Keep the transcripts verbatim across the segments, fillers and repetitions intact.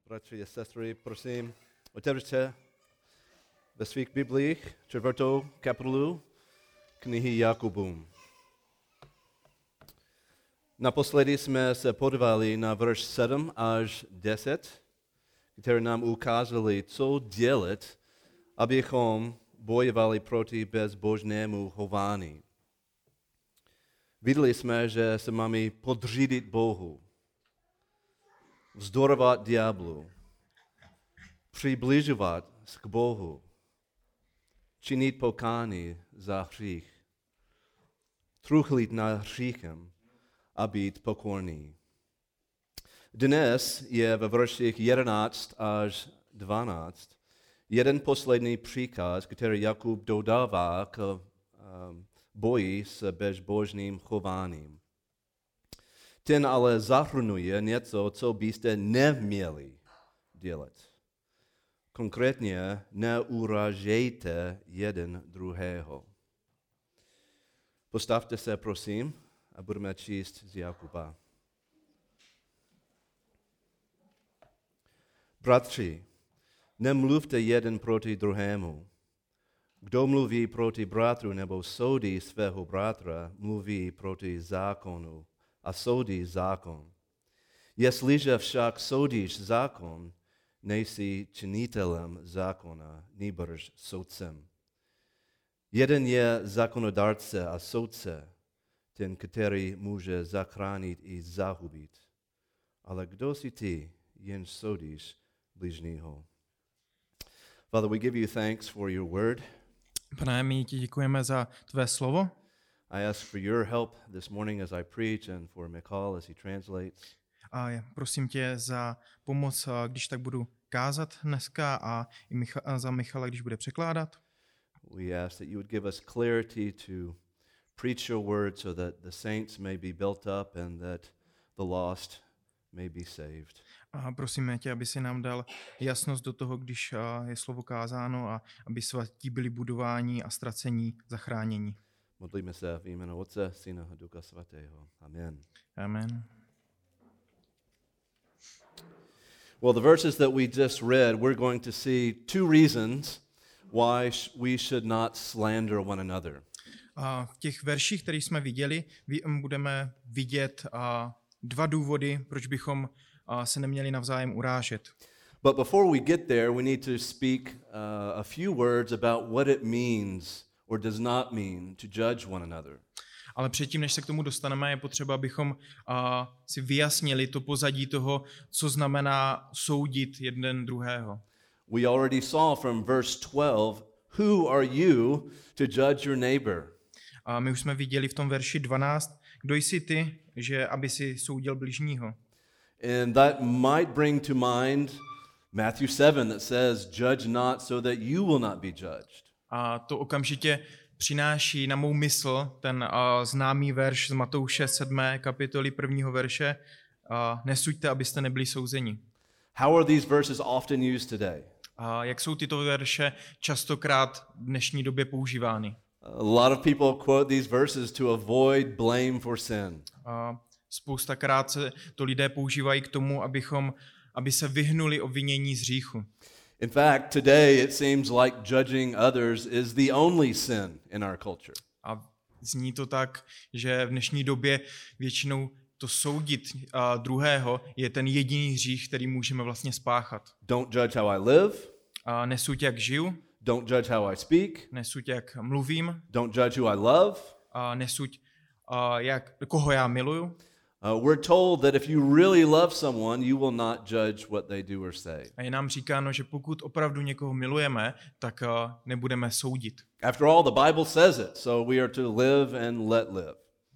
Bratři a sestry, prosím, otevřte ve svých biblích čtvrtou kapitolu knihy Jakubům. Naposledy jsme se podívali na verš sedm až deset, které nám ukázali, co dělat, abychom bojovali proti bezbožnému chování. Viděli jsme, že se máme podřídit Bohu, vzdorovat ďáblu, přibližovat se k Bohu, činit pokání za hřích, truchlit nad hříchem a být pokorný. Dnes je ve verších jedenáct až dvanáct jeden poslední příkaz, který Jakub dodává k um, boji s bezbožným chováním. Ten ale zahrnuje něco, co byste neměli dělat. Konkrétně neuražejte jeden druhého. Postavte se, prosím, a budeme číst z Jakuba. Bratři, nemluvte jeden proti druhému. Kdo mluví proti bratru nebo soudí svého bratra, mluví proti zákonu a soudí zákon. Jestliže však soudíš zákon, nejsi činitelem zákona, nýbrž soudcem. Jeden je zákonodárce a soudce, ten, který může zachránit i zahubit. Ale kdo jsi ty, jenž soudíš bližního? Father, we give you thanks for your word. Pane, my ti děkujeme za tvé slovo. I ask for your help this morning as I preach and for Michal as he translates. A prosím tě za pomoc, když tak budu kázat dneska, a i Micha- a za Michala, když bude překládat. We ask that you would give us clarity to preach your word so that the saints may be built up and that the lost may be saved. A prosíme tě, aby si nám dal jasnost do toho, když je slovo kázáno, a aby svatí byli budováni a ztracení zachránění. Modlíme se v jménu Otce, Syna a Ducha Svatého. Amen. Amen. Well, the verses that we just read, we're going to see two reasons why we should not slander one another. A v těch verších, které jsme viděli, budeme vidět dva důvody, proč bychom se neměli navzájem urážet. But before we get there, we need to speak uh, a few words about what it means or does not mean to judge one another. Ale předtím, než se k tomu dostaneme, je potřeba, abychom uh, si vyjasnili to pozadí toho, co znamená soudit jeden druhého. We already saw from verse twelve, who are you to judge your neighbor? A my už jsme viděli v tom verši dvanáct, kdo jsi ty, že aby si soudil bližního. And that might bring to mind Matthew seven that says, judge not so that you will not be judged. A to okamžitě přináší na mou mysl ten uh, známý verš z Matouše sedmé kapitoly prvního verše, uh, nesuďte, abyste nebyli souzeni. How are these verses often used today? A jak jsou tyto verše častokrát v dnešní době používány? A lot of people quote these verses to avoid blame for sin. A spoustakrát se to lidé používají k tomu, abychom, aby se vyhnuli obvinění z hříchu. In fact, today it seems like judging others is the only sin in our culture. A zní to tak, že v dnešní době většinou to soudit uh, druhého je ten jediný hřích, který můžeme vlastně spáchat. Don't judge how I live. Uh, nesuď, jak žiju. Don't judge how I speak. Nesuď, jak mluvím. Don't judge who I love. Uh, nesuď, uh, jak, koho já miluju. Uh, we're told that if you really love someone, you will not judge what they do or say. A je nám říkáno, že pokud opravdu někoho milujeme, tak uh, nebudeme soudit. After all, the Bible says it, so we are to live and let live.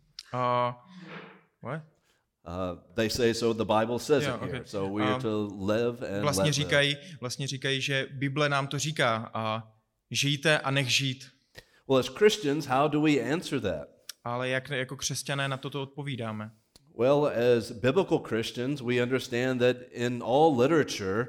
Uh, what? Uh, they say so, the Bible says Yeah, it here, okay. so we are Um, to live and Vlastně let říkají, live. vlastně říkají, že Bible nám to říká. A žijte a nech žít. Well, as Christians, how do we answer that? Ale jak jako křesťané na toto odpovídáme? Well, as biblical Christians, we understand that in all literature,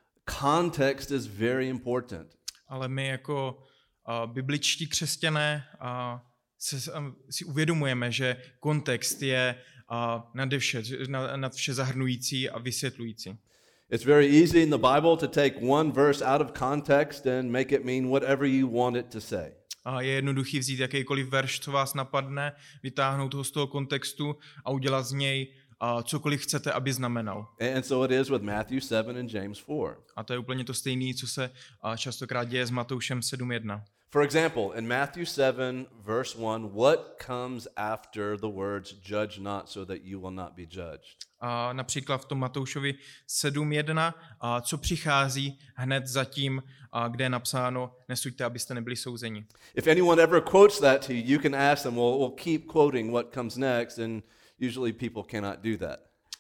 context is very important. Ale my jako uh, bibličtí křesťané uh, se, um, si uvědomujeme, že kontext je uh, nade vše, nad vše zahrnující a vysvětlující. It's very easy in the Bible to take one verse out of context and make it mean whatever you want it to say. A je jednoduchý vzít jakýkoliv verš, co vás napadne, vytáhnout ho z toho kontextu a udělat z něj a cokoliv chcete, aby znamenal. And so it is with Matthew seven and James four. A to je úplně to stejné, co se a, častokrát děje s Matoušem sedm jedna. For example, in Matthew seven, verse one, what comes after the words judge not so that you will not be judged? A například v tom Matoušovi sedm jedna, a co přichází hned zatím, a kde je napsáno nesuďte, abyste nebyli souzeni. If anyone ever quotes that to you, you can ask them, well, we'll keep quoting what comes next, and usually people cannot do that.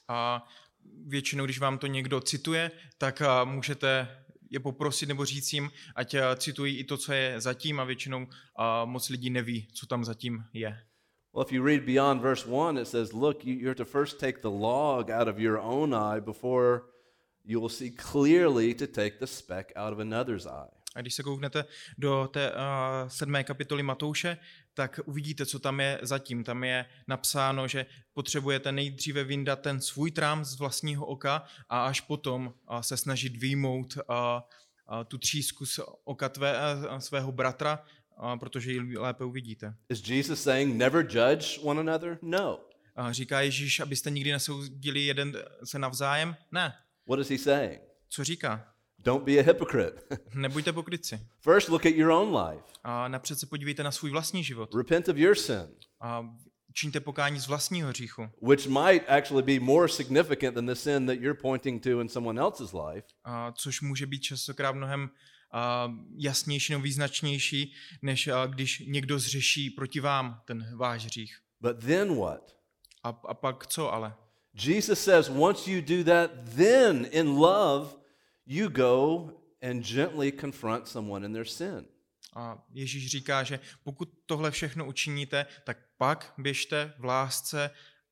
A většinou, když vám to někdo cituje, tak a, můžete je poprosit nebo říct jim, ať a, citují i to, co je zatím, a většinou a, moc lidí neví, co tam zatím je. Well, if you read beyond verse one, it says, look, you, you have to first take the log out of your own eye before you will see clearly to take the speck out of another's eye. A když se kouknete do té uh, sedmé kapitoly Matouše, tak uvidíte, co tam je zatím. Tam je napsáno, že potřebujete nejdříve vyndat ten svůj trám z vlastního oka a až potom uh, se snažit vyjmout uh, uh, tu třísku z oka tvé, uh, svého bratra, uh, protože ji lépe uvidíte. Is Jesus saying never judge one another? No. Uh, říká Ježíš, abyste nikdy nesoudili jeden se navzájem? Ne. What is he saying? Co říká? Don't be a hypocrite. Nebuďte pokrytci. First, look at your own life. A napřed se podívejte na svůj vlastní život. Repent of your sin, A čiňte pokání z vlastního hříchu. which might actually be more significant than the sin that you're pointing to in someone else's life. A což může být častokrát mnohem a, jasnější nebo význačnější, než a, když někdo zřeší proti vám ten váš hřích. But then what? A, a pak co ale? Jesus says once you do that, then in love you go and gently confront someone in their sin. A Ježíš říká, že pokud tohle všechno učiníte, tak pak běžte v lásce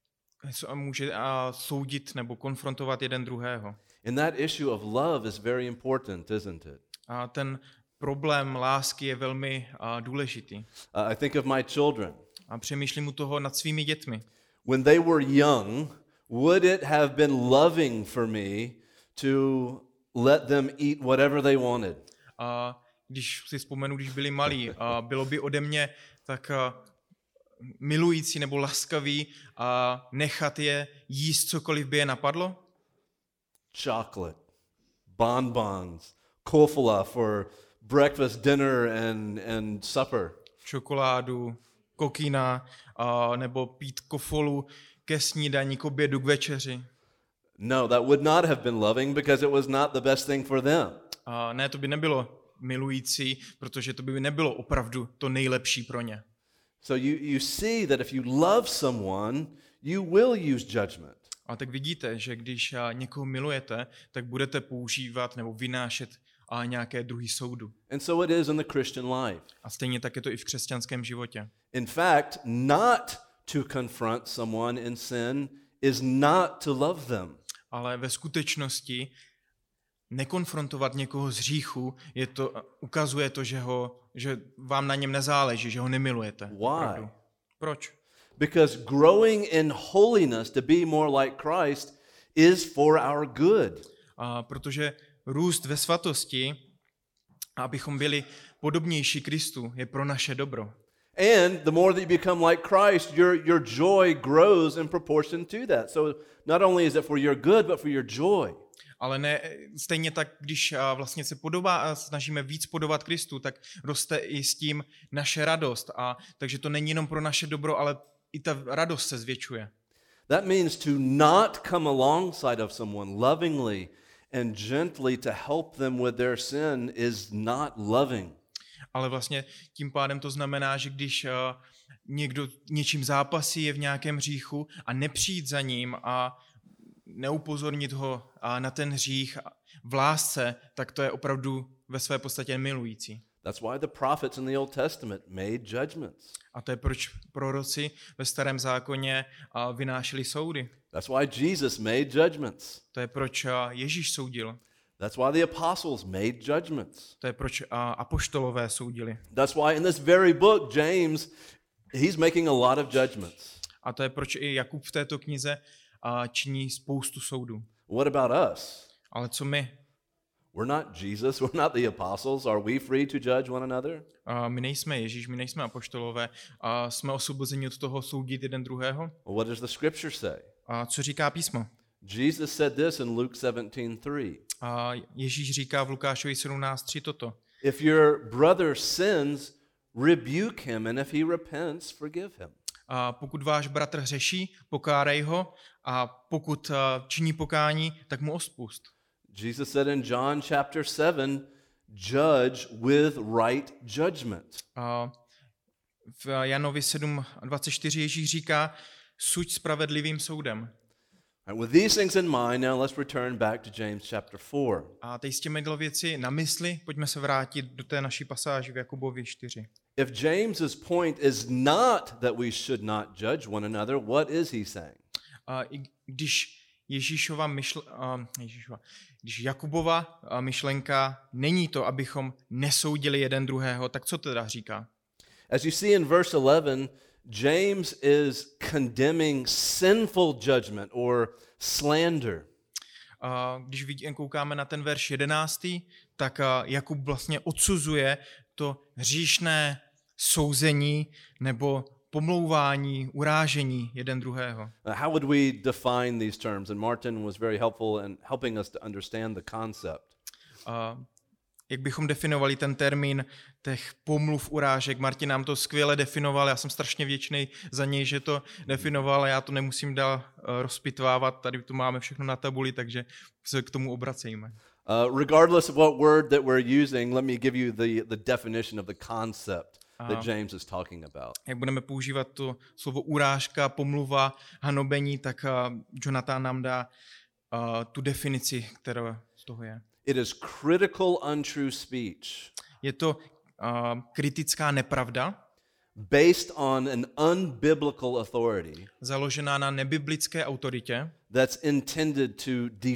a může a soudit nebo konfrontovat jeden druhého. And that issue of love is very important, isn't it? A ten problém lásky je velmi a, důležitý. Uh, I think of my children. A přemýšlím u toho nad svými dětmi. When they were young, would it have been loving for me to let them eat whatever they wanted? A když si vzpomenu, když byli malí, a bylo by ode mě tak a, milující nebo laskavý a nechat je jíst cokoliv by je napadlo? Chocolate, bonbons, kofola for breakfast, dinner, and, and supper. Čokoládu, kokina, a, nebo pít kofolu ke snídani, k obědu, k večeři. No, that would not have been loving because it was not the best thing for them. A ne, to by nebylo milující, protože to by nebylo opravdu to nejlepší pro ně. So you, you see that if you love someone, you will use judgment. A tak vidíte, že když někoho milujete, tak budete používat nebo vynášet a nějaké druhý soudu. And so it is in the Christian life. A stejně tak je to i v křesťanském životě. In fact, not to confront someone in sin is not to love them. Ale ve skutečnosti nekonfrontovat někoho z hříchu je to, ukazuje to, že, ho, že vám na něm nezáleží, že ho nemilujete. Why? Opravdu. Proč? Because growing in holiness to be more like Christ is for our good. A protože růst ve svatosti, abychom byli podobnější Kristu, je pro naše dobro. And the more that you become like Christ, your, your joy grows in proportion to that. So not only is it for your good, but for your joy. Ale ne, stejně tak, když a, vlastně se podobá a snažíme víc podobat Kristu, tak roste i s tím naše radost. A takže to není jenom pro naše dobro, ale i ta radost se zvětšuje. That means to not come alongside of someone lovingly and gently to help them with their sin is not loving. Ale vlastně tím pádem to znamená, že když uh, někdo něčím zápasí, je v nějakém hříchu a nepřijít za ním a neupozornit ho uh, na ten hřích v lásce, tak to je opravdu ve své podstatě milující. That's why the prophets in the Old Testament made judgments. A to je proč proroci ve Starém zákoně uh, vynášeli soudy. That's why Jesus made judgments. To je proč uh, Ježíš soudil. That's why the apostles made judgments. To je proč uh, apoštolové soudili. That's why in this very book, James, he's making a lot of judgments. A to je proč i Jakub v této knize uh, činí spoustu soudů. What about us? Ale co my? We're not Jesus. We're not the apostles. Are we free to judge one another? A my nejsme Ježíš, my nejsme apoštolové a jsme osvobozeni od toho soudit jeden druhého. Well, what does the scripture say? A co říká písmo? Jesus said this in Luke seventeen three. A Ježíš říká v Lukášovi sedmnáct tři toto. If your brother sins, rebuke him, and if he repents, forgive him. A pokud váš bratr hřeší, pokárej ho, a pokud činí pokání, tak mu odpusť. Jesus said in John chapter seven, judge with right judgment. A v Janovi sedm dvacet čtyři Ježíš říká, suď spravedlivým soudem. Right, with these things in mind, now let's return back to James chapter four. A teď s těmi věci na mysli, pojďme se vrátit do té naší pasáže v Jakubovi čtyři. If James's point is not that we should not judge one another, what is he saying? A i když Ježíšova myšl, uh, Ježíšova, když Jakubova uh, myšlenka není to, abychom nesoudili jeden druhého, tak co teda říká? As you see in verse eleven, James is condemning sinful judgment or slander. Uh, když vidíme, koukáme na ten verš jedenáctý, tak uh, Jakub vlastně odsuzuje to hříšné souzení nebo pomlouvání, urážení jeden druhého. Uh, how would we define these terms? And Martin was very helpful in helping us to understand the concept. Uh, jak bychom definovali ten termín těch pomluv, urážek? Martin nám to skvěle definoval, já jsem strašně vděčný za něj, že to definoval, já to nemusím dál uh, rozpitvávat, tady to máme všechno na tabuli, takže se k tomu obracejme. Uh, regardless of what word that we're using, let me give you the, the definition of the concept that James is talking about. Jak budeme používat to slovo urážka, pomluva, hanobení, tak uh, Jonathan nám dá uh, tu definici, která z toho je. It is critical untrue speech. Je to uh, kritická nepravda, based on an unbiblical authority, založená na nebiblické autoritě, that's intended to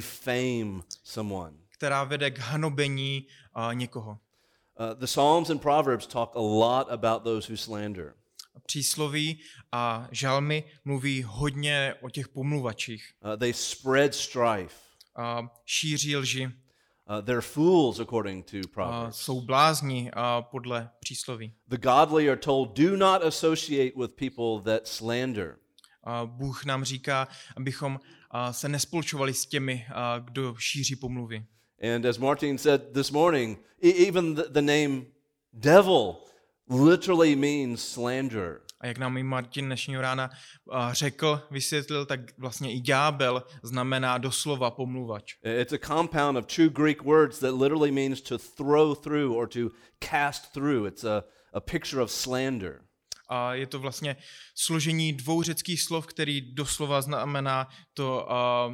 defame someone. která vede k hanobení uh, někoho. Uh, the Psalms and Proverbs talk a lot about those who slander. Přísloví a žalmy mluví hodně o těch pomluvačích. Uh, they spread strife. Uh, šíří lži. Uh, they're fools according to Uh, Proverbs. jsou blázni uh, podle přísloví. The godly are told, do not associate with people that slander. Uh, Bůh nám říká, abychom uh, se nespolčovali s těmi, uh, kdo šíří pomluvy. And as Martin said this morning, e- even the, the name devil literally means slanderer. A jak nám i Martin dnešního rána uh, řekl, vysvětlil, tak vlastně i ďábel znamená doslova pomluvač. It's a compound of two Greek words that literally means to throw through or to cast through. It's a, a picture of slander. A je to vlastně složení dvou řeckých slov, který doslova znamená to uh,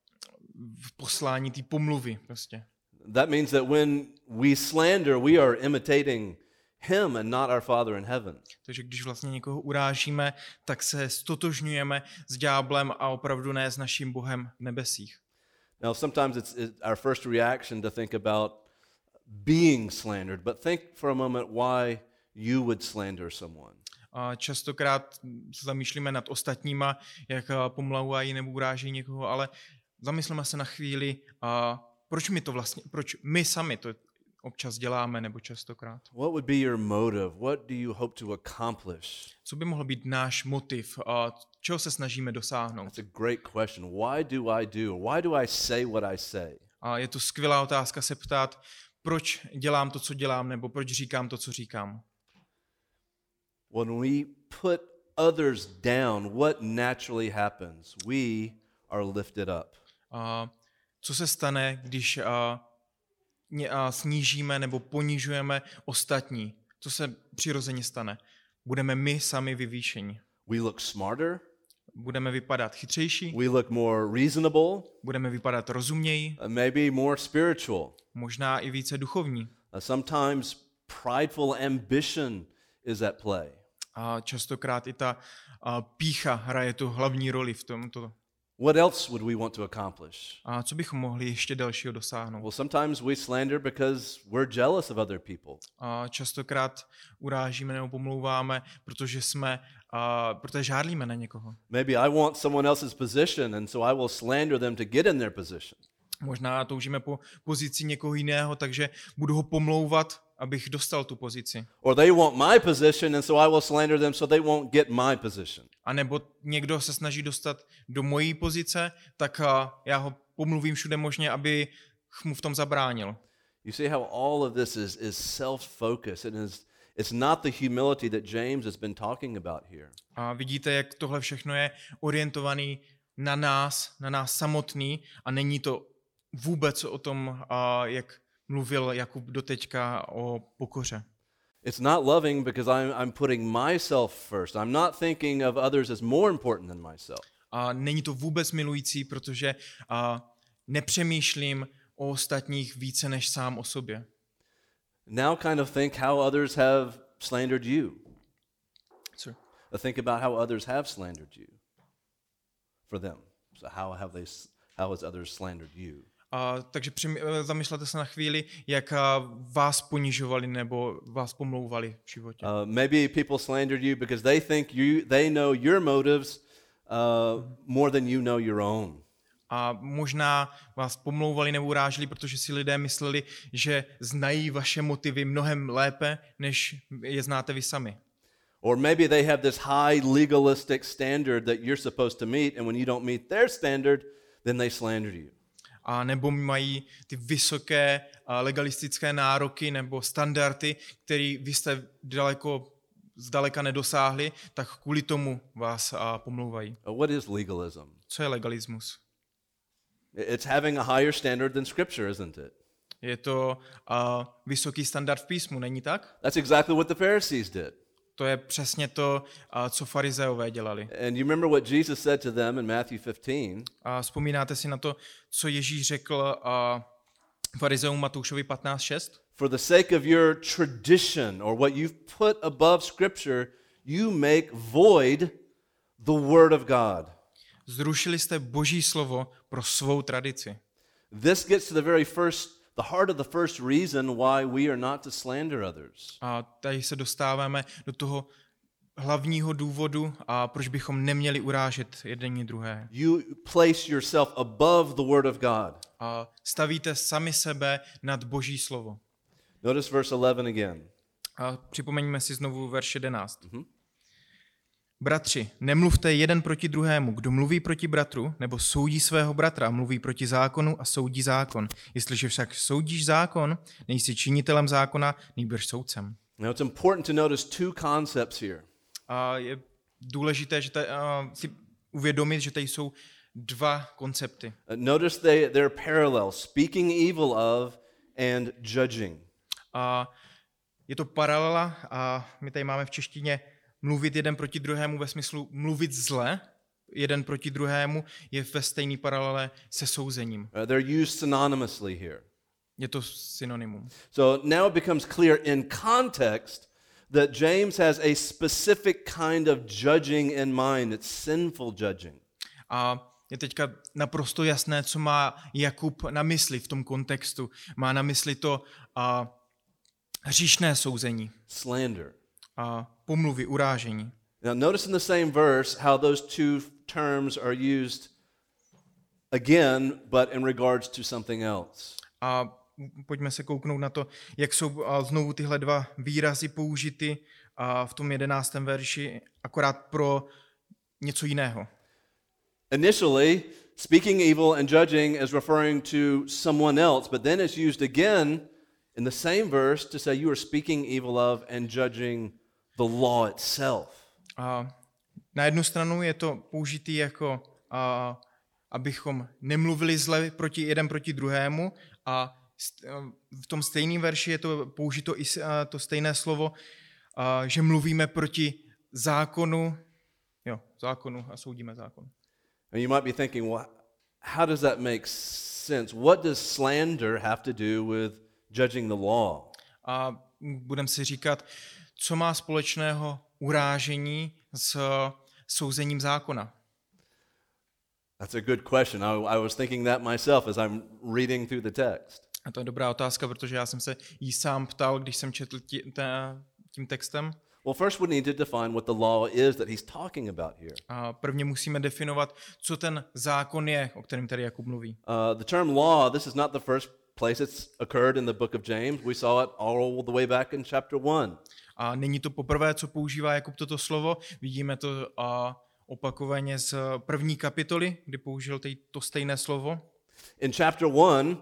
v poslání té pomluvy prostě. That means that when we slander, we are imitating him and not our Father in heaven. Takže když vlastně někoho urážíme, tak se stotožňujeme s ďáblem a opravdu ne s naším Bohem v nebesích. Now, sometimes it's, it's our first reaction to think about being slandered, but think for a moment why you would slander someone. A častokrát se zamýšlíme nad ostatníma, jak pomlouvají nebo uráží někoho, ale zamysleme se na chvíli, a proč my to vlastně, proč my sami to občas děláme nebo častokrát. What would be your motive? What do you hope to accomplish? Co by mohl být náš motiv? A čeho se snažíme dosáhnout? That's a great question. Why do I do? Why do I say what I say? A je to skvělá otázka se ptát, proč dělám to, co dělám, nebo proč říkám to, co říkám. When we put others down, what naturally happens? We are lifted up. A co se stane, když a, ně, a snížíme nebo ponižujeme ostatní? Co se přirozeně stane? Budeme my sami vyvýšeni. We look smarter. Budeme vypadat chytřejší. We look more reasonable. Budeme vypadat rozumněji. Uh, maybe more spiritual. Možná i více duchovní. Uh, sometimes prideful ambition is at play. A častokrát i ta a, pýcha hraje tu hlavní roli v tomto. What else would we want to accomplish? A co bychom mohli ještě dalšího dosáhnout? Well, sometimes we slander because we're jealous of other people. A častokrát urážíme nebo pomlouváme, protože jsme, a, protože žádlíme na někoho. Maybe I want someone else's position, and so I will slander them to get in their position. Možná toužíme po pozici někoho jiného, takže budu ho pomlouvat, abych dostal tu pozici. Or they want my position and so I will slander them so they won't get my position. A nebo někdo se snaží dostat do mojí pozice, tak a, já ho pomluvím všude možně, aby mu v tom zabránil. You see how all of this is, is self-focused. It is, it's not the humility that James has been talking about here. A vidíte, jak tohle všechno je orientovaný na nás, na nás samotný a není to vůbec o tom, a, jak mluvil Jakub doteďka o pokoře. It's not loving because I'm, I'm putting myself first. I'm not thinking of others as more important than myself. A není to vůbec milující, protože a, nepřemýšlím o ostatních více než sám o sobě. Now kind of think how others have slandered you. Sorry. Think about how others have slandered you for them. So how have they, how has others slandered you? A, takže při, zamyslete se na chvíli, jak a, vás ponižovali nebo vás pomlouvali v životě. Uh, maybe people slandered you because they think you, they know your motives uh, more than you know your own. A možná vás pomlouvali nebo uráželi, protože si lidé mysleli, že znají vaše motivy mnohem lépe, než je znáte vy sami. Or maybe they have this high legalistic standard that you're supposed to meet, and when you don't meet their standard, then they slander you. A nebo mají ty vysoké legalistické nároky nebo standardy, které vy jste daleko zdaleka nedosáhli, tak kvůli tomu vás pomlouvají. What is legalism? Co je legalismus? It's having a higher standard than Scripture, isn't it? Je to uh, vysoký standard v písmu, není tak? That's exactly what the Pharisees did. To je přesně to, uh, co farizeové dělali. And you remember what Jesus said to them in Matthew fifteen? A vzpomínáte si na to, co Ježíš řekl uh, farizeům Matoušovi patnáct šest? For the sake of your tradition or what you've put above Scripture, you make void the word of God. Zrušili jste Boží slovo pro svou tradici. This gets to the very first, the heart of the first reason why we are not to slander others. A tady se dostáváme do toho hlavního důvodu, a proč bychom neměli urážet jeden druhé. You place yourself above the word of God. A stavíte sami sebe nad Boží slovo. Notice verse eleven again. A připomeňme si znovu verš jedenáct. Mm-hmm. Bratři, nemluvte jeden proti druhému. Kdo mluví proti bratru, nebo soudí svého bratra, mluví proti zákonu a soudí zákon. Jestliže však soudíš zákon, nejsi činitelem zákona, nýbrž soudcem. Now it's important to notice two concepts here. A je důležité že tady, uh, si uvědomit, že tady jsou dva koncepty. Uh, notice they, they're parallel, speaking evil of and judging. A je to paralela a my tady máme v češtině mluvit jeden proti druhému ve smyslu mluvit zle, jeden proti druhému je ve stejné paralele se souzením. Uh, they're used synonymously here. Je to synonymum. So now it becomes clear in context that James has a specific kind of judging in mind. It's sinful judging. A je teďka naprosto jasné, co má Jakub na mysli v tom kontextu. Má na mysli to a, hříšné souzení. Slander. A pomluvy, urážení. Now notice in the same verse how those two terms are used again, but in regards to something else. A pojďme se kouknout na to, jak jsou znovu tyhle dva výrazy použity v tom jedenáctém verši, akorát pro něco jiného. Initially, speaking evil and judging is referring to someone else, but then it's used again in the same verse to say you are speaking evil of and judging the law itself. A na jednu stranu je to použitý jako, a, abychom nemluvili zle proti jeden proti druhému, a v tom stejném verši je to použito i to stejné slovo, a, že mluvíme proti zákonu, jo, zákonu a soudíme zákon. And you might be thinking, well, how does that make sense? What does slander have to do with judging the law? A budeme si říkat, co má společného urážení s souzením zákona? That's a good question. I, I was thinking that myself as I'm reading through the text. A to je dobrá otázka, protože já jsem se jí sám ptal, když jsem četl tí, té, tím textem. Well, first we need to define what the law is that he's talking about here. A prvně musíme definovat, co ten zákon je, o kterém tady Jakub mluví. Uh, the term law, this is not the first place it's occurred in the book of James. We saw it all the way back in chapter one. A není to poprvé, co používá Jakub toto slovo. Vidíme to a opakovaně z první kapitoly, kdy použil tej, to stejné slovo. In chapter one,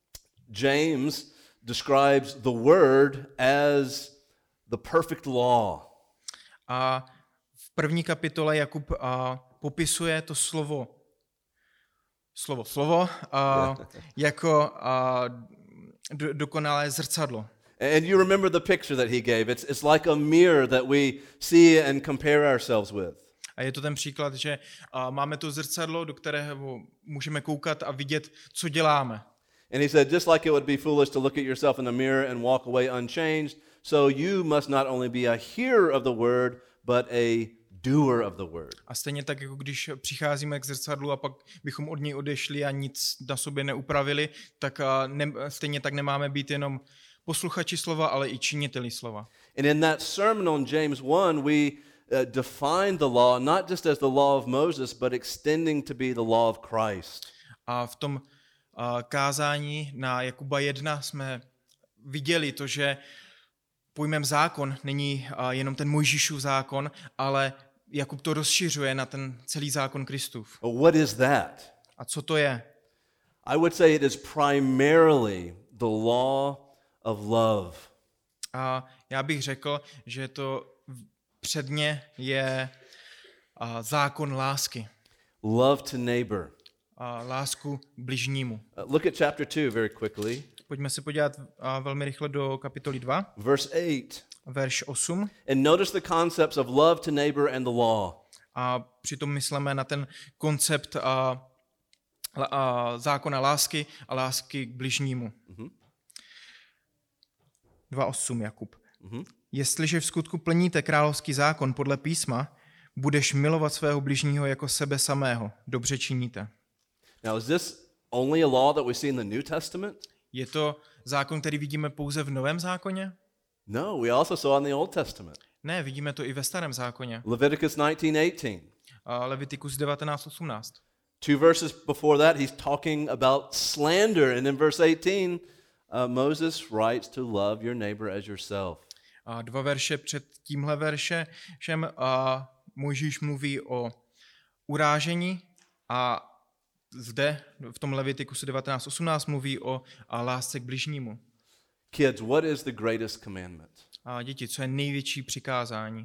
James describes the word as the perfect law. A v první kapitole Jakub a, popisuje to slovo, slovo, slovo a, jako a, do, dokonalé zrcadlo. And you remember the picture that he gave. It's, it's like a mirror that we see and compare ourselves with. A je to ten příklad, že a, máme to zrcadlo, do kterého můžeme koukat a vidět, co děláme. And he said, just like it would be foolish to look at yourself in the mirror and walk away unchanged, so you must not only be a hearer of the word, but a doer of the word. A stejně tak, jako když přicházíme k zrcadlu a pak bychom od něj odešli a nic na sobě neupravili, tak a, ne, stejně tak nemáme být jenom posluchači slova, ale i činiteli slova. And in that sermon on James one, we uh, define the law not just as the law of Moses, but extending to be the law of Christ. A v tom a, kázání na Jakuba jedna jsme viděli to, že pojmem zákon není a, jenom ten Mojžíšův zákon, ale Jakub to rozšiřuje na ten celý zákon Kristův. What is that? A co to je? I would say it is primarily the law of love. A já bych řekl, že to předně je a, zákon lásky. Love to neighbor. A lásku k bližnímu. Uh, look at chapter two very quickly. Pojďme se podívat a, velmi rychle do kapitoly dva, Verse eight. verš osm. And notice the concepts of love to neighbor and the law. A přitom myslíme na ten koncept a, a zákona lásky a lásky k bližnímu. Mm-hmm. dva osm Jakub. Mm-hmm. Jestliže v skutku plníte královský zákon podle písma, budeš milovat svého bližního jako sebe samého. Dobře činíte. Now, is this only a law that we see in the New Testament? Je to zákon, který vidíme pouze v Novém zákoně? No, we also saw in the Old Testament. Ne, vidíme to i ve Starém zákoně. Leviticus nineteen eighteen. A Levitikus devatenáct osmnáct. Two verses before that, he's talking about slander. And in verse eighteen, uh, Moses writes to love your neighbor as yourself. A dva verše před tímhle veršem a Mojžíš mluví o urážení a zde v tom Levitikusu devatenáct osmnáct mluví o a lásce k bližnímu. Kids, what is the greatest commandment? A děti, co je největší přikázání?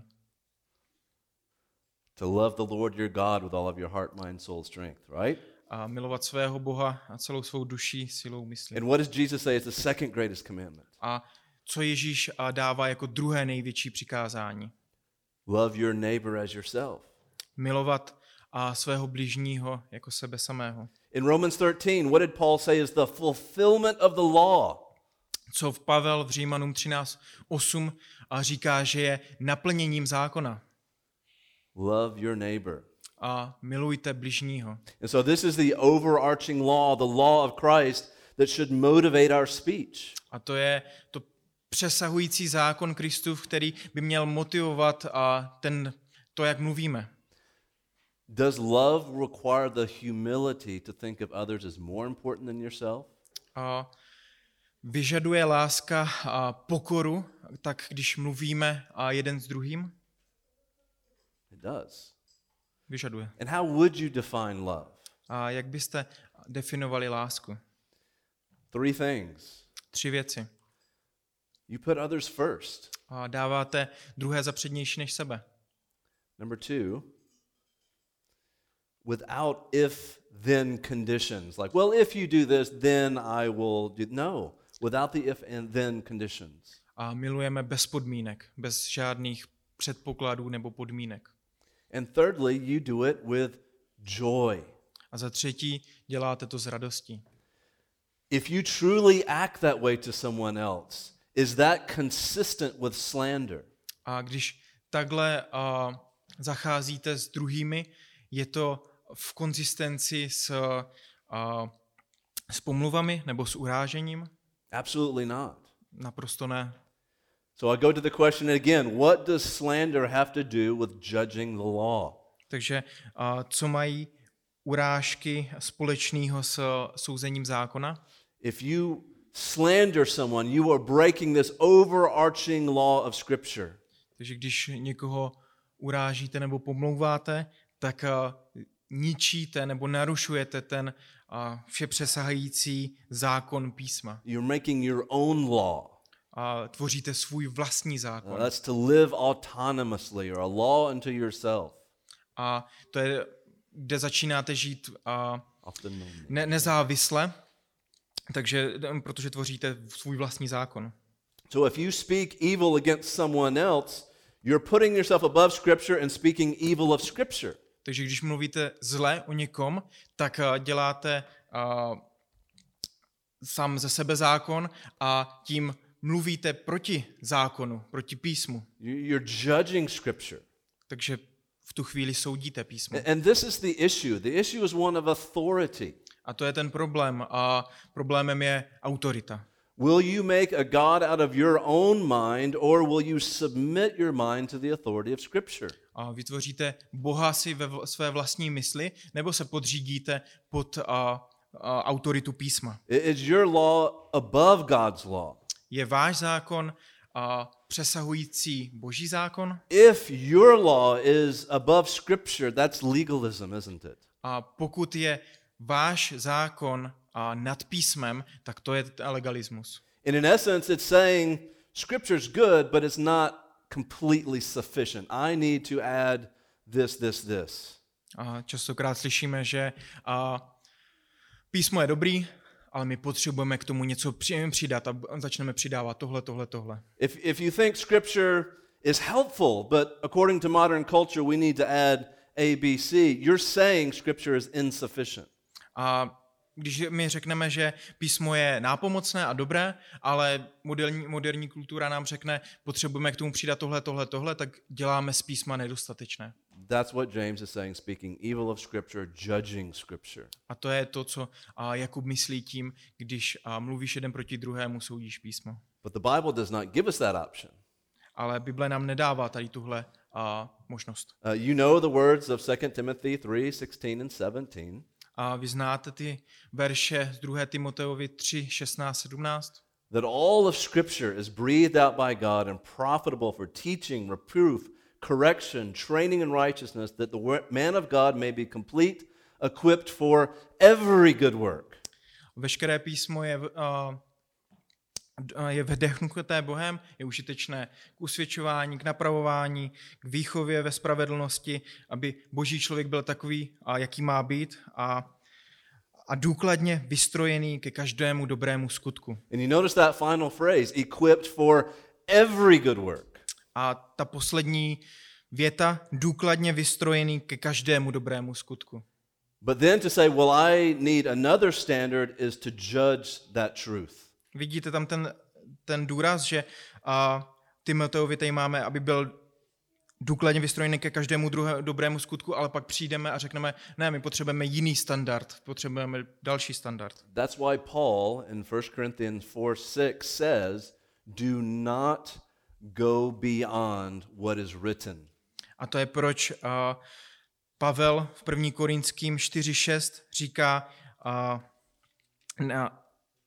To love the Lord your God with all of your heart, mind, soul, strength, right? A milovat svého Boha a celou svou duší, silou, myslí. And what does Jesus say is the second greatest commandment? A co Ježíš dává jako druhé největší přikázání? Love your neighbor as yourself. Milovat a svého bližního jako sebe samého. In Romans thirteen, what did Paul say is the fulfillment of the law? Co v Pavel v Římanům třináct osm a říká, že je naplněním zákona. Love your neighbor. A milujte bližního. And so this is the overarching law, the law of Christ that should motivate our speech. A to je to přesahující zákon Kristův, který by měl motivovat a ten, to, jak mluvíme. Does love require the humility to think of others as more important than yourself? A vyžaduje láska a pokoru, tak když mluvíme a jeden s druhým? It does. Vyžaduje. And how would you define love? A jak byste definovali lásku? Three things. Tři věci. You put others first. A dáváte druhé za přednější než sebe. Number two, without if then conditions. Like, well, if you do this, then I will do. No, without the if and then conditions. A milujeme bez podmínek, bez žádných předpokladů nebo podmínek. And thirdly, you do it with joy. A za třetí, děláte to s radostí. If you truly act that way to someone else, is that consistent with slander? A když takhle uh, zacházíte s druhými, je to v konzistenci s, uh, s pomluvami nebo s urážením? Absolutely not. Naprosto ne. So I go to the question again, what does slander have to do with judging the law? Takže uh, co mají urážky společného s souzením zákona? If you slander someone, you are breaking this overarching law of Scripture. Takže když někoho urážíte nebo pomlouváte, tak uh, ničíte nebo narušujete ten uh, všepřesahající zákon písma. You're making your own law. A tvoříte svůj vlastní Uh, zákon. that's to live autonomously or a law unto yourself. A to je, kde začínáte žít uh, Often known. ne- nezávisle, takže, protože tvoříte svůj vlastní zákon. So if you speak evil against someone else, you're putting yourself above Scripture and speaking evil of Scripture. Takže když mluvíte zle o někom, tak uh, děláte uh, sám ze sebe zákon a tím mluvíte proti zákonu, proti písmu. You- You're judging Scripture. Takže v tu chvíli soudíte písmo. And this is the issue. The issue is one of authority. A to je ten problém. A problémem je autorita. Will you make a God out of your own mind, or will you submit your mind to the authority of Scripture? A vytvoříte Boha si ve vl- své vlastní mysli, nebo se podřídíte pod a, a, autoritu písma. I- Is your law above God's law? Je váš zákon a, přesahující Boží zákon? If your law is above Scripture, that's legalism, isn't it? A pokud je váš zákon a, nad písmem, tak to je legalismus. And in essence, it's saying Scripture's good, but it's not completely sufficient. I need to add this, this, this. A častokrát slyšíme, že a, písmo je dobrý, ale my potřebujeme k tomu něco při- přidat a začneme přidávat tohle, tohle, tohle. If, if you think Scripture is helpful, but according to modern culture, we need to add A, B, C, you're saying Scripture is insufficient. A když my řekneme, že písmo je nápomocné a dobré, ale moderní, moderní kultura nám řekne, potřebujeme k tomu přidat tohle, tohle, tohle, tak děláme z písma nedostatečné. That's what James is saying, speaking evil of Scripture, judging Scripture. A to je to, co a, Jakub myslí tím, když a, mluvíš jeden proti druhému, soudíš písmo. But the Bible does not give us that option. Ale Bible nám nedává tady tuhle a, možnost. Uh, you know the words of Second Timothy three, sixteen and seventeen. A vy znáte ty verše z druhé Timoteovi tři, šestnáct, sedmnáct? That all of Scripture is breathed out by God and profitable for teaching, reproof, correction, training in righteousness, that the wor- man of God may be complete, equipped for every good work. Veškeré písmo je, uh, je vdechnuté Bohem, je užitečné k usvědčování, k napravování, k výchově ve spravedlnosti, aby boží člověk byl takový, a jaký má být, a, a důkladně vystrojený ke každému dobrému skutku. And you notice that final phrase, equipped for every good work. A ta poslední věta, důkladně vystrojený ke každému dobrému skutku. But then to say, well, I need another standard is to judge that truth. Vidíte tam ten, ten důraz, že a, Timoteovi tady máme, aby byl důkladně vystrojený ke každému druhé, dobrému skutku, ale pak přijdeme a řekneme, ne, my potřebujeme jiný standard, potřebujeme další standard. That's why Paul in First Corinthians four six says, do not go beyond what is written. A to je proč a, Pavel v první Korinským čtyři šest říká, a, na,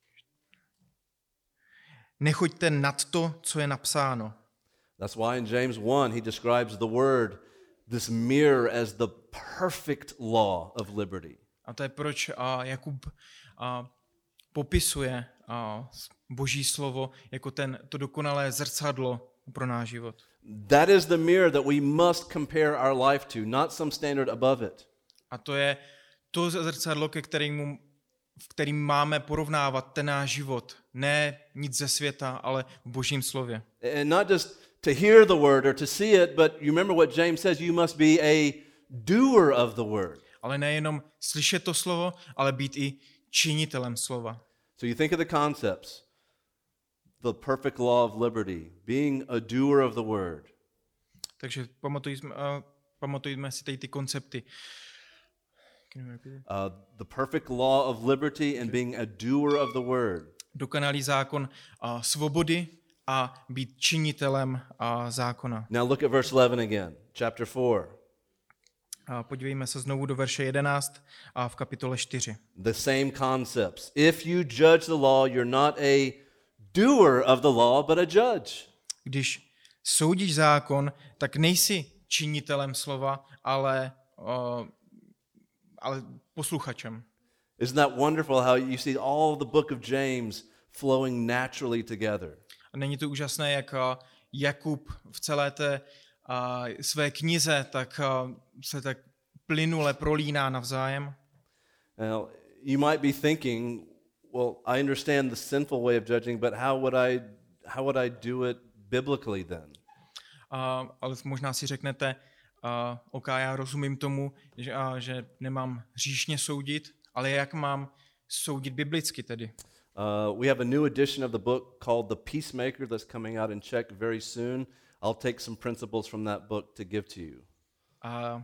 nechoďte nad to, co je napsáno. That's why in James one he describes the word, this mirror, as the perfect law of liberty. A to je proč a, Jakub a, popisuje a, Boží slovo jako ten, to dokonalé zrcadlo pro náš život. That is the mirror that we must compare our life to, not some standard above it. A to je to zrcadlo, ke kterému, v kterým máme porovnávat ten náš život. Ne nic ze světa, ale v Božím slově. And not just to hear the word or to see it, but you remember what James says, you must be a doer of the word. Ale nejenom slyšet to slovo, ale být i činitelem slova. So you think of the concepts. The perfect law of liberty, being a doer of the word. Takže pamatujme, uh, pamatujme si tady ty koncepty. Uh, the perfect law of liberty and being a doer of the word. Dokonalý zákon uh, svobody a být činitelem a zákona. Now look at verse eleven again, chapter four. A podívejme se znovu do verše jedenáct a v kapitole čtyři. The same concepts. If you judge the law, you're not a doer of the law, but a judge. Když soudíš zákon, tak nejsi činitelem slova, ale, uh, ale posluchačem. Isn't that wonderful how you see all the book of James flowing naturally together? A není to úžasné, jak uh, Jakub v celé té uh, své knize tak uh, se tak plynule prolíná navzájem? Now, you might be thinking, well, I understand the sinful way of judging, but how would I how would I do it biblically then? Uh, ale možná si řeknete, uh, OK, já rozumím tomu, že, uh, že nemám hříšně soudit, ale jak mám soudit biblicky tedy? Uh, we have a new edition of the book called The Peacemaker that's coming out in Czech very soon. I'll take some principles from that book to give to you. Uh,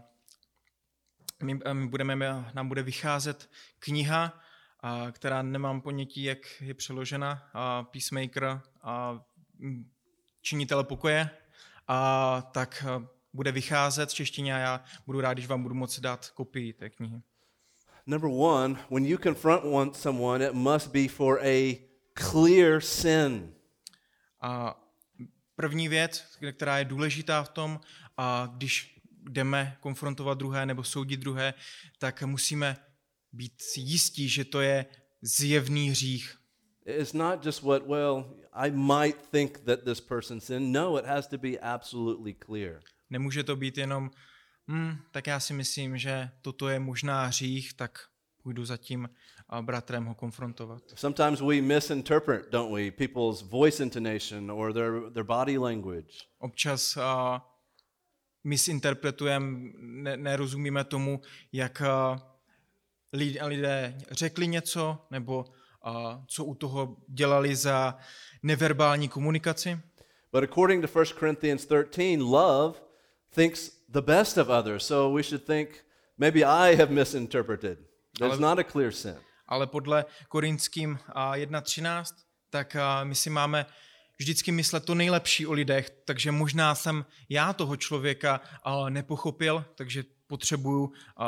my, my budeme, nám bude vycházet kniha, uh, která nemám ponětí, jak je přeložena, uh, Peacemaker, uh, činitel pokoje, a uh, tak uh, bude vycházet v češtině a já budu rád, když vám budu moci dát kopii té knihy. Number one, when you confront one, someone, it must be for a clear sin. A první věc, která je důležitá v tom, a když jdeme konfrontovat druhé nebo soudit druhé, tak musíme být si jistí, že to je zjevný hřích. It's not just what, well, I might think that this person sinned. No, it has to be absolutely clear. Nemůže to být jenom, hm, tak já si myslím, že toto je možná hřích, tak půjdu za tím bratrem ho konfrontovat. Sometimes we misinterpret, don't we, people's voice intonation or their, their body language. Občas uh, misinterpretujeme, ne, nerozumíme tomu, jak uh, lidé řekli něco, nebo uh, co u toho dělali za neverbální komunikaci. But according to First Corinthians thirteen, love thinks the best of others. So we should think, maybe I have misinterpreted. There's not a clear sin. Ale podle Korinským jedna třináct, tak my si máme vždycky myslet to nejlepší o lidech, takže možná jsem já toho člověka nepochopil, takže potřebuju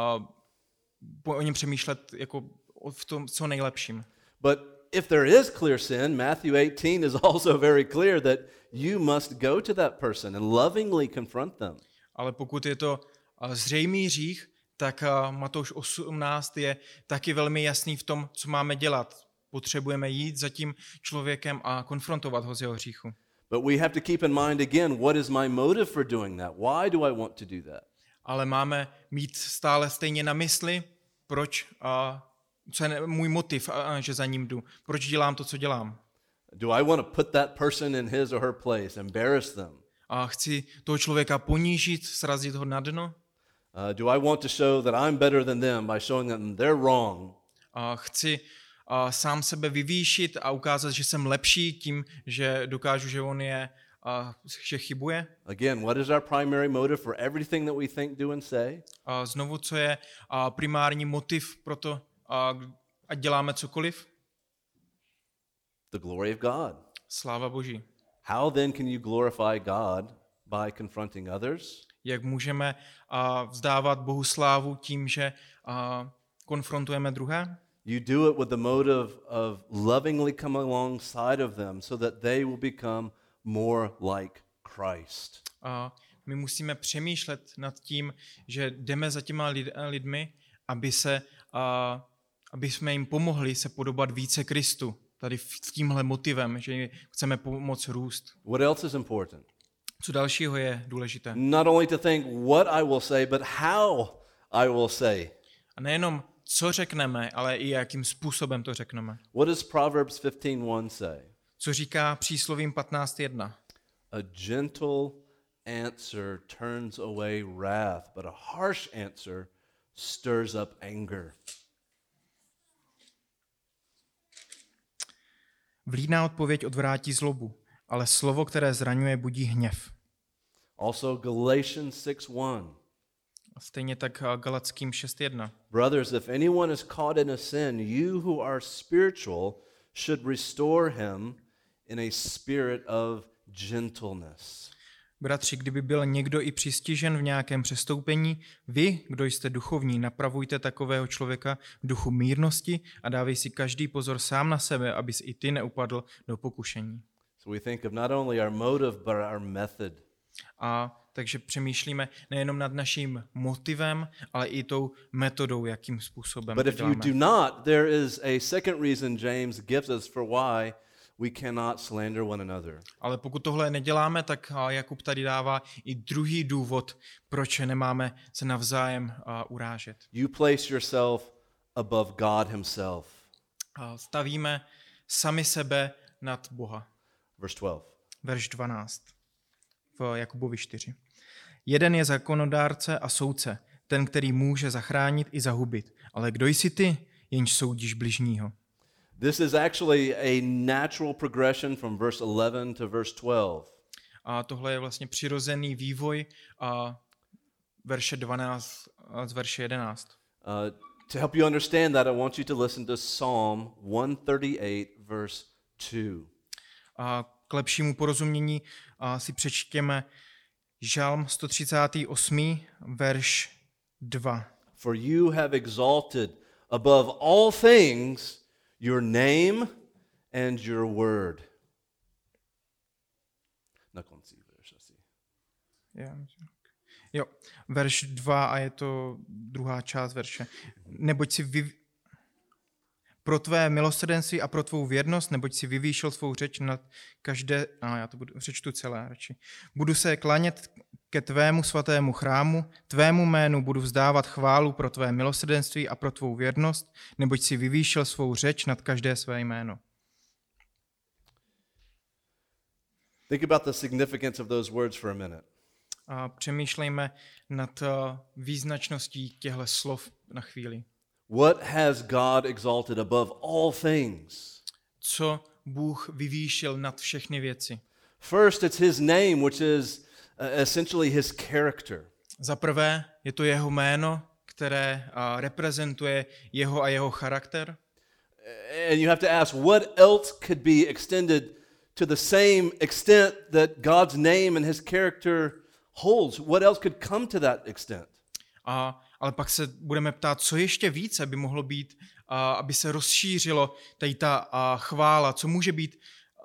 o něm přemýšlet jako v tom co nejlepším. But if there is clear sin, Matthew eighteen is also very clear that you must go to that person and lovingly confront them. Ale pokud je to zřejmý hřích, tak Matouš osmnáct je taky velmi jasný v tom, co máme dělat. Potřebujeme jít za tím člověkem a konfrontovat ho z jeho hříchu. But we have to keep in mind again, what is my motive for doing that? Why do I want to do that? Ale máme mít stále stejně na mysli, proč, a, co je můj motiv, a, že za ním jdu. Proč dělám to, co dělám. Do I want to put that person in his or her place, embarrass them? A chci toho člověka ponížit, srazit ho na dno? Uh, do I want to show that I'm better than them by showing them they're wrong? A chci a, sám sebe vyvýšit a ukázat, že jsem lepší tím, že dokážu, že on je, a, že chybuje? Again, what is our primary motive for everything that we think, do and say? A znovu, co je a, primární motiv pro to, a, ať děláme cokoliv? The glory of God. Sláva Boží. How then can you glorify God by confronting others? Jak můžeme a, vzdávat Bohu slávu tím, že a, konfrontujeme druhé? You do it with the motive of lovingly come alongside of them so that they will become more like Christ. A my musíme přemýšlet nad tím, že jdeme za těma lid, lidmi, aby, se, a, aby jsme jim pomohli se podobat více Kristu. Tady s tímhle motivem, že chceme pomoct růst. What else is important? Co dalšího je důležité? Not only to think what I will say, but how I will say. A nejenom co řekneme, ale i jakým způsobem to řekneme. What does Proverbs fifteen one say? Co říká příslovím patnáct jedna? A gentle answer turns away wrath, but a harsh answer stirs up anger. Vlídná odpověď odvrátí zlobu, ale slovo, které zraňuje, budí hněv. Also Galatians six one. A stejně tak Galatským šest jedna. Brothers, if anyone is caught in a sin, you who are spiritual should restore him in a spirit of gentleness. Bratři, kdyby byl někdo i přistižen v nějakém přestoupení, vy, kdo jste duchovní, napravujte takového člověka v duchu mírnosti a dávej si každý pozor sám na sebe, abys i ty neupadl do pokušení. So we think of not only our motive, but our method. A takže přemýšlíme nejenom nad naším motivem, ale i tou metodou, jakým způsobem But to if you děláme. do not, there is a second reason James gives us for why we cannot slander one another. Ale pokud tohle neděláme, tak a, Jakub tady dává i druhý důvod, proč nemáme se navzájem a, urážet. You place yourself above God himself. A stavíme sami sebe nad Boha. Verse twelve. Verš dvanáct v Jakubovi čtyři. Jeden je zákonodárce a soudce, ten, který může zachránit i zahubit. Ale kdo jsi ty, jenž soudíš bližního? This is actually a natural progression from verse eleven to verse twelve. A tohle je vlastně přirozený vývoj a verše dvanáct a z verše jedenáct. Uh, to help you understand that, I want you to listen to Psalm one thirty-eight, verse two. A k lepšímu porozumění a si přečtěme Žalm sto třicátý osmý verš dva. For you have exalted above all things your name and your word. Na konci verše asi. Jo, verš dva a je to druhá část verše. Neboť si vy... pro tvé milosrdenství a pro tvou věrnost, neboť si vyvýšil svou řeč nad každé... A já to budu, přečtu celé radši. Budu se klanět ke tvému svatému chrámu, tvému jménu budu vzdávat chválu pro tvé milosrdenství a pro tvou věrnost, neboť si vyvýšil svou řeč nad každé své jméno. Think about the significance of those words for a minute. A přemýšlejme nad význačností těchto slov na chvíli. What has God exalted above all things? Co Bůh vyvýšil nad všechny věci? First, it's his name, which is uh, essentially his character. Za prvé je to jeho jméno, které uh, reprezentuje jeho a jeho charakter. And you have to ask, what else could be extended to the same extent that God's name and his character holds? What else could come to that extent? A, ale pak se budeme ptát, co ještě více by mohlo být, a, aby se rozšířilo tady ta a, chvála, co může být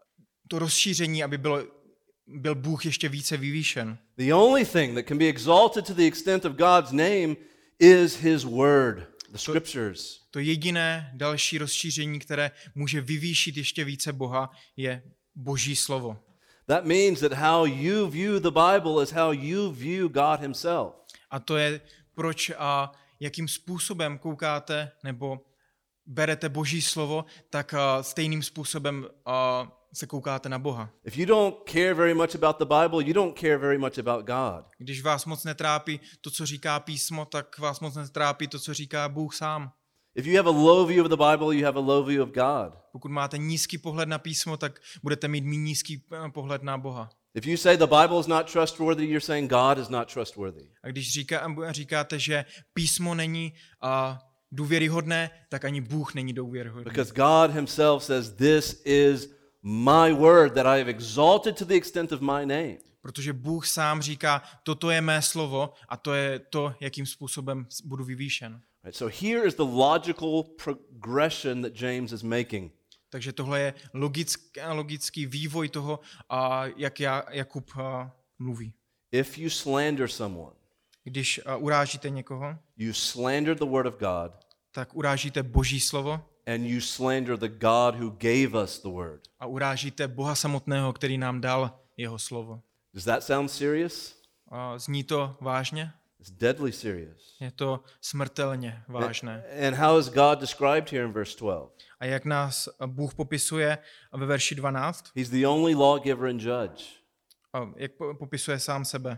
to rozšíření, aby bylo, byl Bůh ještě více vyvýšen. The only thing that can be exalted to the extent of God's name is his word, the scriptures. To jediné další rozšíření, které může vyvýšit ještě více Boha, je Boží slovo. That means that how you view the Bible is how you view God himself. A to je, proč a jakým způsobem koukáte nebo berete Boží slovo, tak a, stejným způsobem a, se koukáte na Boha. If you don't care very much about the Bible, you don't care very much about God. Když vás moc netrápí to, co říká písmo, tak vás moc netrápí to, co říká Bůh sám. If you have a low view of the Bible, you have a low view of God. Pokud máte nízký pohled na písmo, tak budete mít méně nízký pohled na Boha. If you say the Bible is not trustworthy, you're saying God is not trustworthy. A když říká, říkáte, že písmo není a, důvěryhodné, tak ani Bůh není důvěryhodný. Because God himself says, this is my word that I have exalted to the extent of my name. Protože Bůh sám říká, toto je mé slovo a to je to, jakým způsobem budu vyvýšen. Right, so here is the logical progression that James is making. Takže tohle je logický, logický vývoj toho, a jak já, Jakub a, mluví. If you slander someone, Když a, urážíte někoho, you slander the word of God, tak urážíte Boží slovo and you slander the God who gave us the word. a urážíte Boha samotného, který nám dal jeho slovo. Does that sound serious? A zní to vážně? It's deadly serious. Je to smrtelně vážné. And how is God described here in verse twelve? A jak nás Bůh popisuje ve verši dvanáct, He's the only lawgiver and judge. a jak popisuje sám sebe.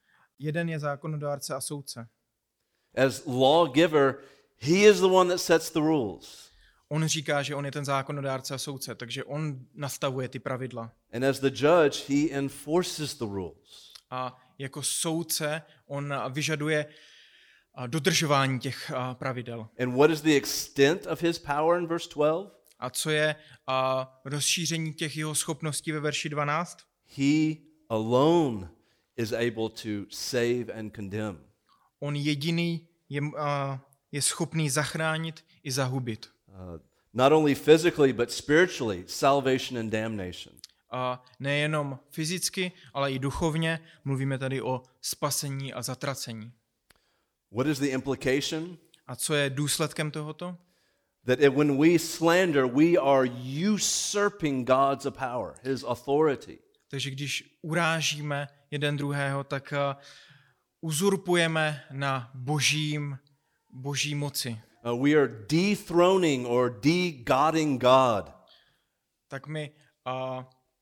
Jeden je zákonodárce a soudce. As lawgiver, he is the one that sets the rules. On říká, že on je ten zákonodárce a soudce, takže on nastavuje ty pravidla. And as the judge, he enforces the rules. A jako soudce on vyžaduje dodržování těch pravidel. And what is the extent of his power in verse twelve? A co je a, rozšíření těch jeho schopností ve verši dvanáct? He alone is able to save and condemn. On jediný je, a, je schopný zachránit i zahubit. Uh, not only physically, but spiritually, salvation and damnation. A nejenom fyzicky, ale i duchovně mluvíme tady o spasení a zatracení. What is the implication? A co je důsledkem tohoto? That it, when we slander, we are usurping God's power, his authority. Takže když urážíme jeden druhého, tak uh, uzurpujeme na božím, boží moci. Uh, we are dethroning or de-godding God. Tak my uh,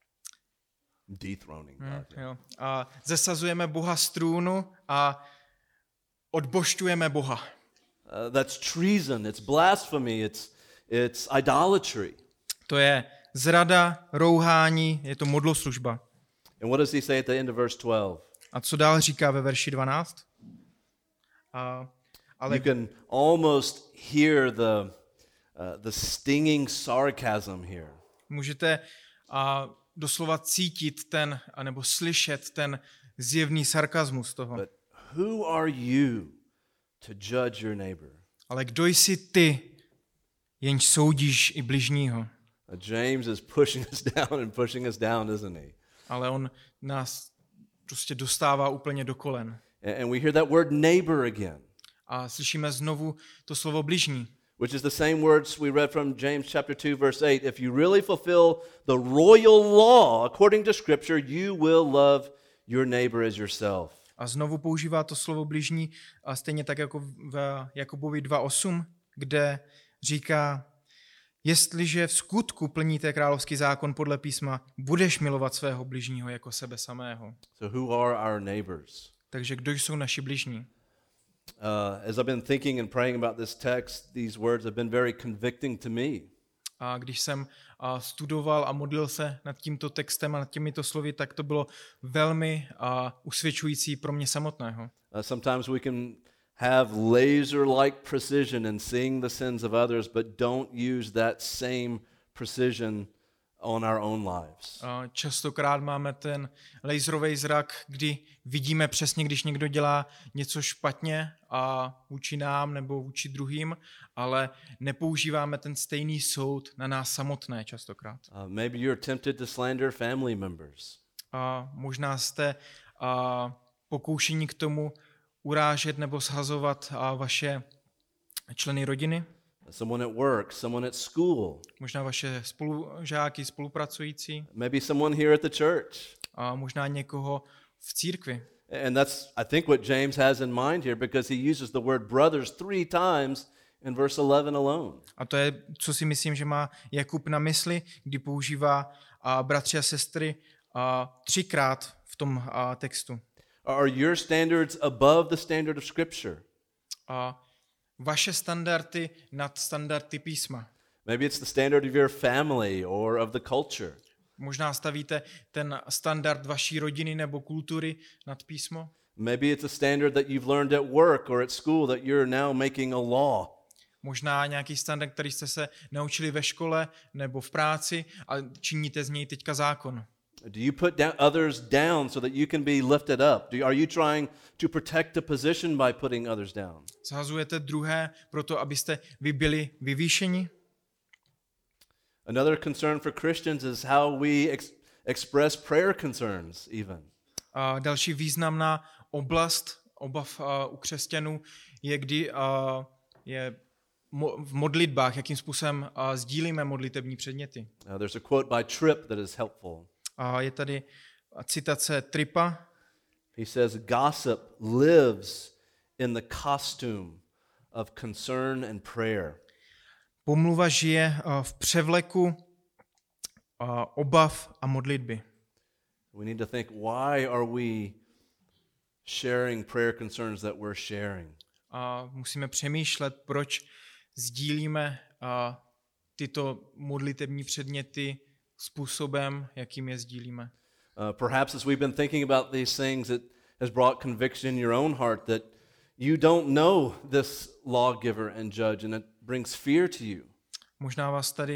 Dethroning hm, God. jo, uh, zesazujeme Boha z trůnu a odbožťujeme Boha. Uh, that's treason, it's blasphemy, it's, it's idolatry. To je zrada, rouhání, je to modloslužba. And what does he say at the end of verse twelve? A co dál říká ve verši dvanáct? A, ale You can almost hear the, uh, the stinging sarcasm here. můžete a, doslova cítit ten, anebo slyšet ten zjevný sarkazmus toho. But who are you to judge your neighbor? Ale kdo jsi ty, jenž soudíš i bližního? Uh, James is pushing us down and pushing us down, isn't he? Ale on nás prostě dostává úplně do kolen. And, and we hear that word neighbor again, A slyšíme znovu to slovo bližní, which is the same words we read from James chapter two, verse eight. If you really fulfill the royal law according to Scripture, you will love your neighbor as yourself. a znovu používá to slovo bližní, a stejně tak jako v Jakobovi dva osm, kde říká, jestliže v skutku plníte královský zákon podle písma, budeš milovat svého bližního jako sebe samého. So who are our neighbors? Takže kdo jsou naši bližní? Uh, as I've been thinking and praying about this text, these words have been very convicting to me. A když jsem a, studoval a modlil se nad tímto textem a nad těmito slovy, tak to bylo velmi a, usvědčující pro mě samotného. Uh, sometimes we can have laser-like precision in seeing the sins of others, but don't use that same precision on our own lives. A častokrát máme ten laserový zrak, kdy vidíme přesně, když někdo dělá něco špatně a vůči nám nebo vůči druhým, ale nepoužíváme ten stejný soud na nás samotné častokrát. Uh, maybe you're tempted to slander family members. A možná jste a, pokoušení k tomu urážet nebo shazovat a, vaše členy rodiny, Someone at work, someone at school, možná vaše spolužáky, spolupracující maybe someone here at the church. a možná někoho v církvi. And that's, I think, what James has in mind here, because he uses the word brothers three times in verse eleven alone. A to je, co si myslím, že má Jakub na mysli, kdy používá a, bratři a sestry a, třikrát v tom a, textu. Are your standards above the standard of Scripture? A vaše standardy nad standardy písma. Maybe it's the standard of your family or of the culture. Možná stavíte ten standard vaší rodiny nebo kultury nad písmo. Maybe it's a standard that you've learned at work or at school that you're now making a law. Možná nějaký standard, který jste se naučili ve škole nebo v práci a činíte z něj teďka zákon. Do you put down others down so that you can be lifted up? Do, are you trying to protect the position by putting others down? Zhazujete druhé proto, abyste vy byli vyvýšeni? Another concern for Christians is how we ex- express prayer concerns even. A další významná oblast obav a, u křesťanů je, kdy a, je mo, v modlitbách, jakým způsobem a, sdílíme modlitební předměty. Uh, there's a quote by Tripp that is helpful. A je tady citace Trippa. He says, gossip lives in the costume of concern and prayer. Pomluva žije v převleku obav a modlitby. We need to think, why are we sharing prayer concerns that we're sharing? A musíme přemýšlet, proč sdílíme tyto modlitební předměty způsobem, jakým je sdílíme. Uh, perhaps as we've been thinking about these things, it has brought conviction in your own heart that you don't know this lawgiver and judge, and it brings fear to you. Možná vás tady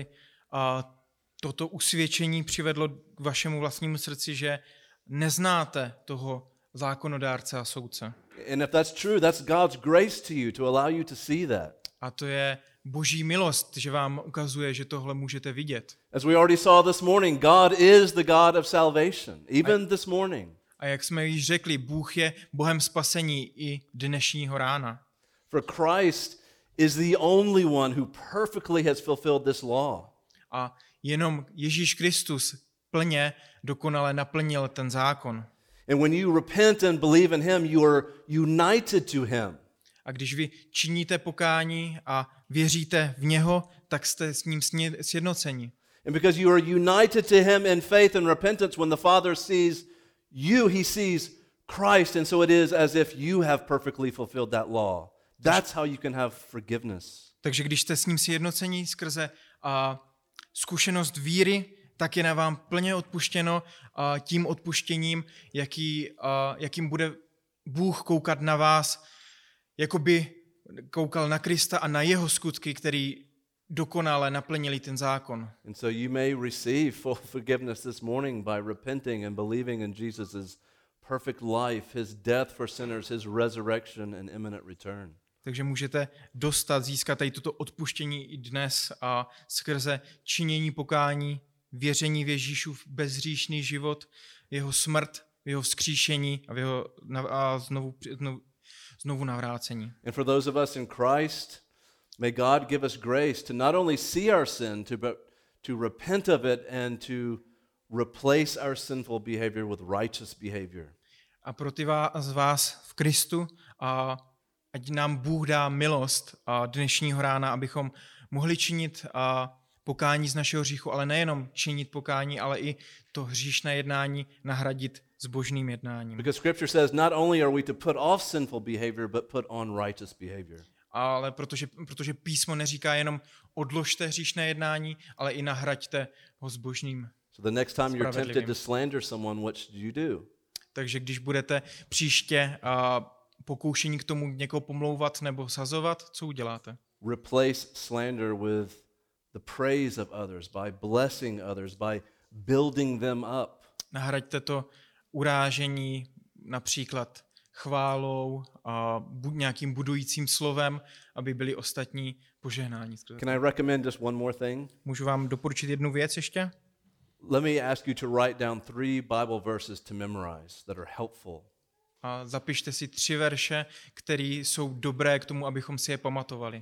a toto usvědčení přivedlo k vašemu vlastnímu srdci, že neznáte toho zákonodárce a soudce. And if that's true, that's God's grace to you to allow you to see that. A to je Boží milost, že vám ukazuje, že tohle můžete vidět. As we already saw this morning, God is the God of salvation, even this morning. A jak jsme již řekli, Bůh je Bohem spasení i dnešního rána. For Christ is the only one who perfectly has fulfilled this law. A jenom Ježíš Kristus plně dokonale naplnil ten zákon. And when you repent and believe in him, you are united to him. A když vy činíte pokání a věříte v něho, tak jste s ním sjednoceni. And because you are united to him in faith and repentance, when the Father sees you, he sees Christ, and so it is as if you have perfectly fulfilled that law. That's how you can have forgiveness. Takže když jste s ním sjednoceni skrze a, zkušenost víry, tak je na vám plně odpuštěno a, tím odpuštěním, jaký, a, jakým bude Bůh koukat na vás, jako by koukal na Krista a na jeho skutky, který dokonale naplnili ten zákon. And so you may receive full forgiveness this morning by repenting and believing in Jesus' perfect life, his death for sinners, his resurrection and imminent return. Takže můžete dostat, získat tady toto odpuštění i dnes a skrze činění pokání, věření v Ježíšův bezhříšný život, jeho smrt, jeho vzkříšení a, v jeho, a znovu, znovu, znovu navrácení. And for those of us in Christ, may God give us grace to not only see our sin, to, but to repent of it and to replace our sinful behavior with righteous behavior. A pro ty z vás v Kristu, a ať nám Bůh dá milost a dnešního rána, abychom mohli činit a pokání z našeho hříchu, ale nejenom činit pokání, ale i to hříšné jednání nahradit s božným jednáním. Because Scripture says not only are we to put off sinful behavior, but put on righteous behavior. Ale protože, protože písmo neříká jenom odložte hříšné jednání, ale i nahraďte ho s božným. So the next time you're tempted to slander someone, what should you do? Takže když budete příště a pokoušení k tomu někoho pomlouvat nebo sazovat, co uděláte? Replace slander with the praise of others, by blessing others, by building them up. Nahraďte to urážení například chválou a bu- nějakým budujícím slovem, aby byli ostatní požehnáni. Can I recommend just one more thing? Můžu vám doporučit jednu věc ještě? Let me ask you to write down three Bible verses to memorize that are helpful. A zapište si tři verše, které jsou dobré k tomu, abychom si je pamatovali.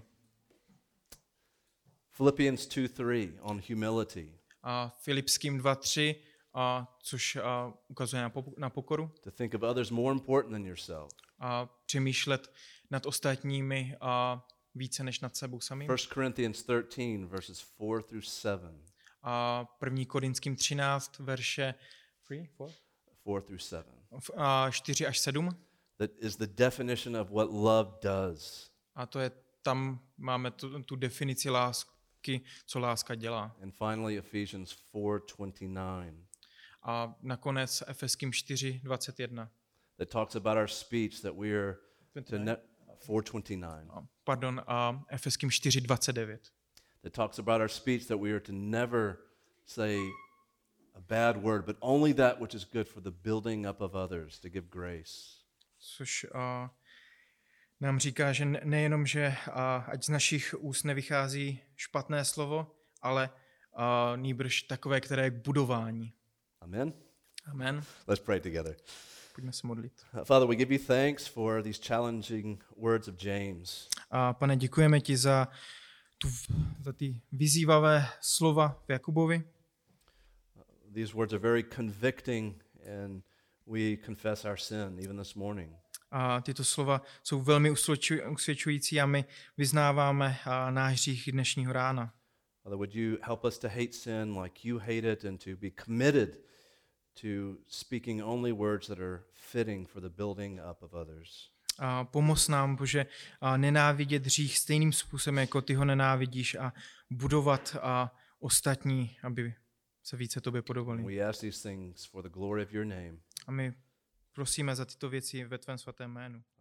Philippians two three on humility. A Filipským dva tři, a což a, ukazuje na, po, na pokoru. To think of others more important than yourself. A přemýšlet nad ostatními a více než nad sebou samým. First Corinthians thirteen verses four through seven. A první Korinským třináct verše three, four? four through seven. A čtyři až sedm. That is the definition of what love does. A to je, tam máme tu, tu definici lásky, co láska dělá. And finally Ephesians four twenty-nine. A nakonec Efeským čtyři dvacet jedna. That talks about our speech that we are to ne- four twenty-nine. Pardon, a Efeským čtyři dvacet devět. That talks about our speech that we are to never say a bad word, but only that which is good for the building up of others, to give grace. Což a, nám říká, že nejenom, že a, ať z našich úst nevychází špatné slovo, ale a, nýbrž takové, které je k budování. Amen. Amen. Let's pray together. Pojďme se modlit. Father, we give you thanks for these challenging words of James. A pane, děkujeme ti za, tu, za ty vyzývavé slova v Jakubovi. These words are very convicting, and we confess our sin even this morning. A tyto slova jsou velmi usvědčující a my vyznáváme náš hřích dnešního rána. Father, would you help us to hate sin like you hate it and to be committed to speaking only words that are fitting for the building up of others. A pomoz nám, Bože, a nenávidět hřích stejným způsobem, jako ty ho nenávidíš, a budovat a ostatní, aby se více tobě podobali. We ask these things for the glory of your name. A my prosíme za tyto věci ve tvém svatém jménu.